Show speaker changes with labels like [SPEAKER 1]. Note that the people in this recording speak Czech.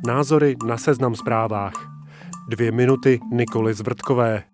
[SPEAKER 1] Názory na Seznam Zprávách. 2 minuty Nikoly Zvrtkové.